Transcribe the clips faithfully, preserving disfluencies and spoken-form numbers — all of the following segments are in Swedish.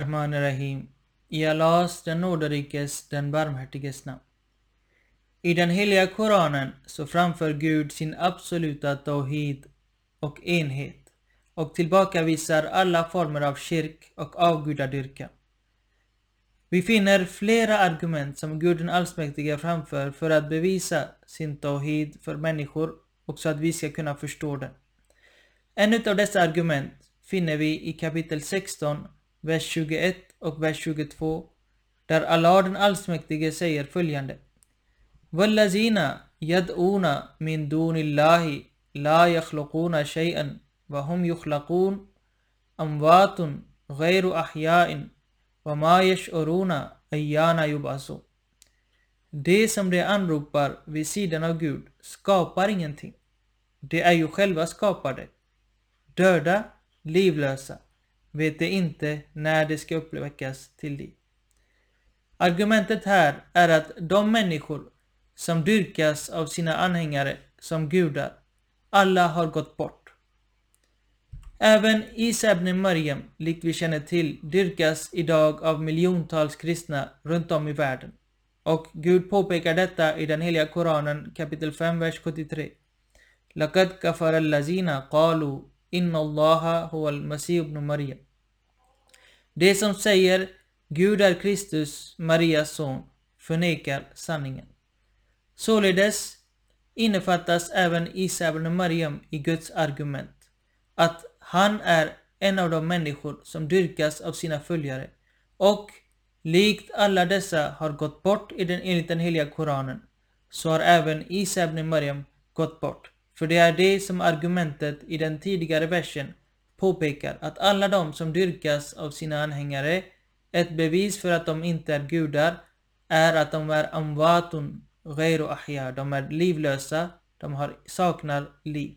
Bismillahirrahmanirrahim. I Allahs, den nåderikes, den barmhärtiges namn. I den heliga Koranen så framför Gud sin absoluta tawhid och enhet och tillbakavisar alla former av kyrk och avgudadyrkan. Vi finner flera argument som Gud den allsmäktige framför för att bevisa sin tawhid för människor och så att vi ska kunna förstå den. En av dessa argument finner vi i kapitel sexton, vers tjugoett och vers tjugotvå, där Allah den allsmäktige säger följande: Wallazina yad'una min dunillahi la yakhluquna shay'an wa hum yukhlaqun amwatun ghayru ahya'in wa ma yash'uruna ayyana yub'asu. Det som de anropar vid sidan av Gud skapar ingenting. De är ju själva skapade. Döda, livlösa, vet de inte när det ska uppväckas till liv. Argumentet här är att de människor som dyrkas av sina anhängare som gudar, alla har gått bort. Även Isa ibn Maryam, likt vi känner till, dyrkas idag av miljontals kristna runt om i världen. Och Gud påpekar detta i den heliga Koranen kapitel fem, vers sjuttiotre. Laqad kafara allazina qalu inna allaha huwa al-masih ibn Maryam. Det som säger Gud är Kristus, Marias son, förnekar sanningen. Således innefattas även Isa ibn Maryam i Guds argument, att han är en av de människor som dyrkas av sina följare, och likt alla dessa har gått bort i den, enligt den heliga Koranen, så har även Isa ibn Maryam gått bort. För det är det som argumentet i den tidigare versen påpekar, att alla de som dyrkas av sina anhängare, ett bevis för att de inte är gudar, är att de är amwatun ghayru ahya, de är livlösa, de har, saknar liv.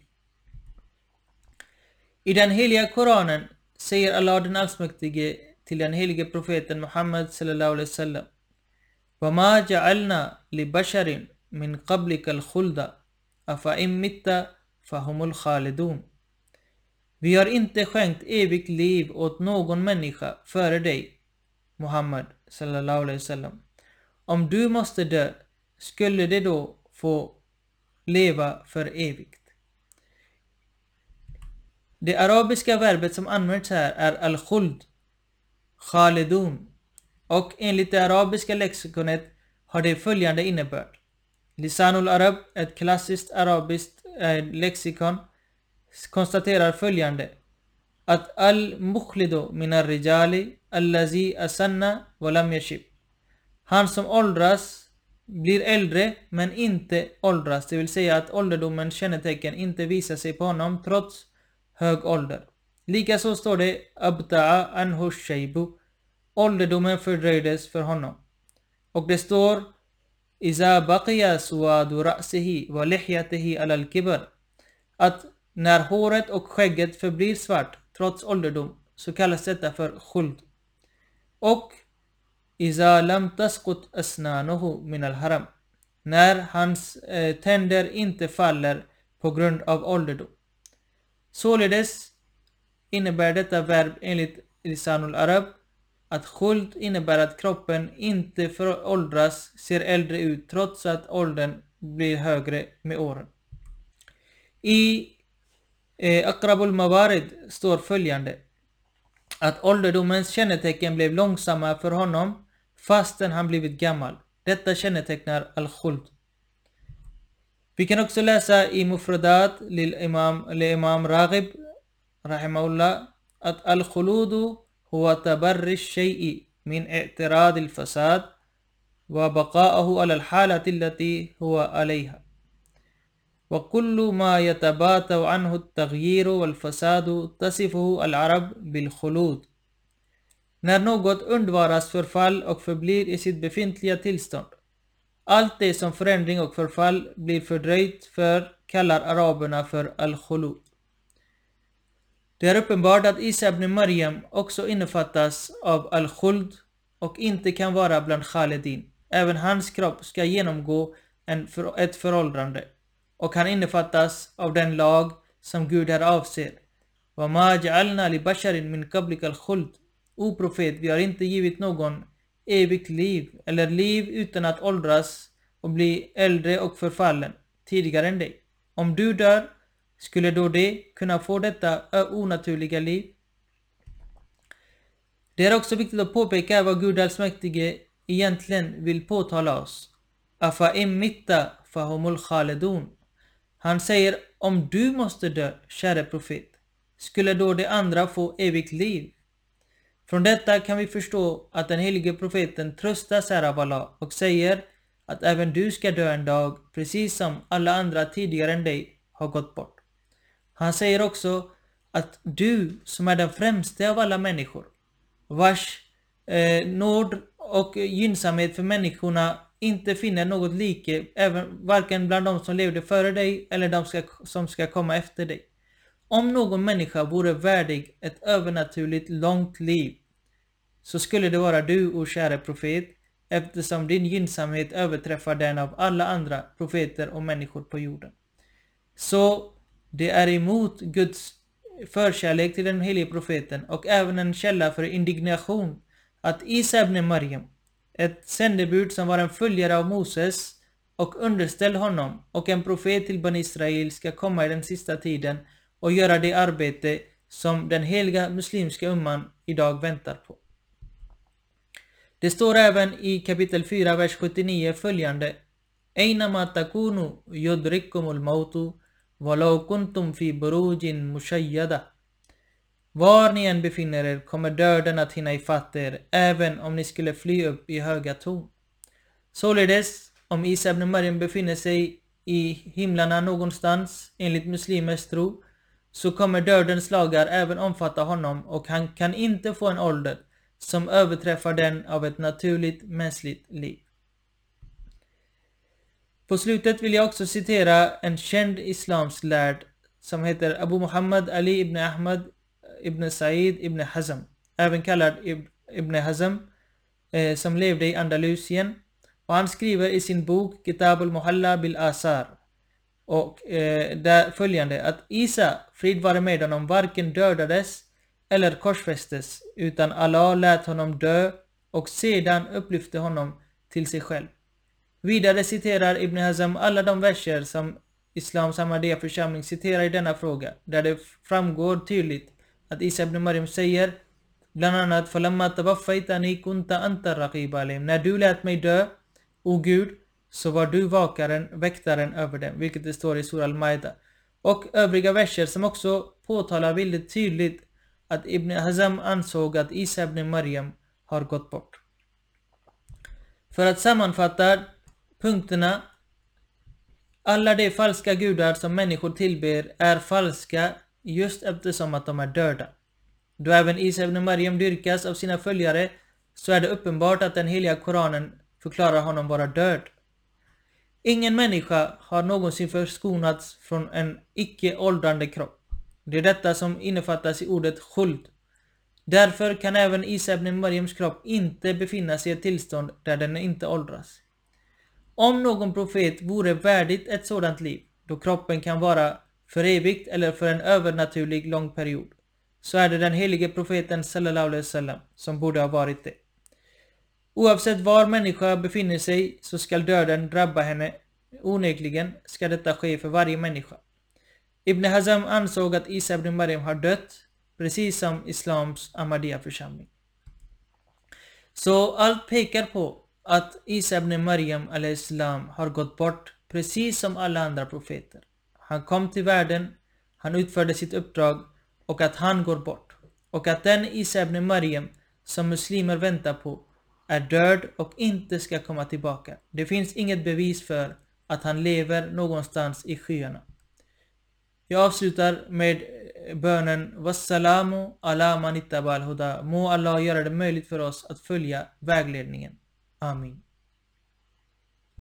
I den heliga Koranen säger Allah den allsmäktige till den helige profeten Muhammad sallallahu alaihi wasallam: Wa ma ja'alna li basharin min qablika al-khulda afa in mitta fahumul khalidun. Vi har inte skänkt evigt liv åt någon människa före dig, Muhammad sallallahu alaihi wasallam. Om du måste dö, skulle det då få leva för evigt. Det arabiska verbet som används här är al-khuld, khalidun, och enligt det arabiska lexikonet har det följande innebörd. Lisanul Arab, ett klassiskt arabiskt eh, lexikon, konstaterar följande: att al-mukhlidu minar rijali allazi asanna wa lam yashib. Han som åldras blir äldre men inte åldras, det vill säga att ålderdomens kännetecken inte visar sig på honom trots hög ålder. Likaså står det abta'a anhu shaybu, ålderdomen fördröjdes för honom. Och det står iza baqiya suwadu ra'sihi wa lihyatihi ala al-kibar, att när håret och skägget förblir svart trots ålderdom, så kallas detta för khuld. Och iza lam tasqut asnanuhu min al-haram, när hans eh, tänder inte faller på grund av ålderdom. Således innebär detta verb enligt Lisanul Arab att khuld innebär att kroppen inte föråldras, ser äldre ut trots att åldern blir högre med åren. I eh, Aqrabul Mawarid står följande: att ålderdomens kännetecken blev långsamma för honom fastän han blivit gammal. Detta kännetecknar al-khuld. Vi kan också läsa i Mufradat lil imam, li imam Raghib rahimahullah att al-khuludu huwa tabarri shay'i min i'tirad al-fasad wa baqa'ahu ala al-halati allati huwa alayha wa kullu ma yatabatu anhu at-taghyir wal-fasad tasifuhu al-arab bil-khulud. När något undvaras förfall och förblir i sitt befintliga tillstånd, allt det som förändring och förfall blir fördröjt för, kallar araberna för al-khulud. Det är uppenbart att Isa ibn Maryam också innefattas av al-khuld och inte kan vara bland khalidin. Även hans kropp ska genomgå en för, ett föråldrande, och han innefattas av den lag som Gud här avser. Wa ma ja'alna li basharin min qablika al-khuld, O profet, vi har inte givit någon evigt liv eller liv utan att åldras och bli äldre och förfallen tidigare än dig. Om du dör, skulle då det kunna få detta onaturliga liv? Det är också viktigt att påpeka vad Gud allsmäktige egentligen vill påtala oss. Afa immitta fahumul khalidun. Han säger, om du måste dö, käre profet, skulle då de andra få evigt liv? Från detta kan vi förstå att den helige profeten tröstas här av Allah och säger att även du ska dö en dag, precis som alla andra tidigare än dig har gått bort. Han säger också att du, som är den främste av alla människor, vars eh, nåd och gynnsamhet för människorna inte finner något like, även varken bland de som levde före dig eller de ska, som ska komma efter dig. Om någon människa vore värdig ett övernaturligt långt liv, så skulle det vara du, o käre profet, eftersom din gynnsamhet överträffar den av alla andra profeter och människor på jorden. Så det är emot Guds förkärlek till den helige profeten och även en källa för indignation att Isa ibn Maryam, ett sändebud som var en följare av Moses och underställd honom och en profet till Ban Israel, ska komma i den sista tiden och göra det arbete som den heliga muslimska umman idag väntar på. Det står även i kapitel fyra, vers sjuttionio följande: Einama takunu yudrikumul mautu walau kuntum fi burujin mushayyada. Var ni än befinner er kommer döden att hinna ifatt er, även om ni skulle fly upp i höga torn. Således, om Isa ibn Maryam befinner sig i himlarna någonstans, enligt muslimers tro, så kommer dödens lagar även omfatta honom, och han kan inte få en ålder som överträffar den av ett naturligt mänskligt liv. På slutet vill jag också citera en känd islamsk lärd som heter Abu Muhammad Ali ibn Ahmad ibn Sa'id ibn Hazm, även kallad Ibn Hazm, eh, som levde i Andalusien, och han skriver i sin bok Kitab al-Muhalla bil Asar och eh, där följande, att Isa, frid vare med honom, varken dödades eller korsfästes, utan Allah lät honom dö och sedan upplyfte honom till sig själv. Vidare citerar Ibn Hazm alla de verser som Islams Ahmadiyya församling citerar i denna fråga, där det framgår tydligt att Isa ibn Maryam säger bland annat: Falamma tawaffaytani kunta anta raqib alayhim. När du lät mig dö, o Gud, så var du vakaren, väktaren över dem, vilket det står i Surah Al-Maida. Och övriga verser som också påtalar väldigt tydligt att Ibn Hazm ansåg att Isa ibn Maryam har gått bort. För att sammanfatta punkterna: alla de falska gudar som människor tillber är falska just eftersom att de är döda. Då även Isa ibn Maryam dyrkas av sina följare, så är det uppenbart att den heliga Koranen förklarar honom vara död. Ingen människa har någonsin förskonats från en icke-åldrande kropp. Det är detta som innefattas i ordet khuld. Därför kan även Isa ibn Maryams kropp inte befinna sig i ett tillstånd där den inte åldras. Om någon profet vore värdigt ett sådant liv, då kroppen kan vara för evigt eller för en övernaturlig lång period, så är det den helige profeten sallallahu alaihi wasallam som borde ha varit det. Oavsett var människa befinner sig, så ska döden drabba henne. Onekligen ska detta ske för varje människa. Ibn Hazm ansåg att Isa ibn Maryam har dött, precis som Islams Ahmadiyya församling. Så allt pekar på att Isa ibn Maryam al-Islam har gått bort, precis som alla andra profeter. Han kom till världen, han utförde sitt uppdrag, och att han går bort. Och att den Isa ibn Maryam som muslimer väntar på är död och inte ska komma tillbaka. Det finns inget bevis för att han lever någonstans i skyarna. Jag avslutar med bönen: Wassalamu ala man ittabal huda. Må Allah göra det möjligt för oss att följa vägledningen. Amin.